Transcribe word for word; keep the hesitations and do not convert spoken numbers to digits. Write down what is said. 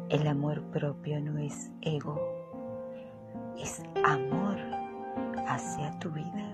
El amor propio no es ego, es amor hacia tu vida.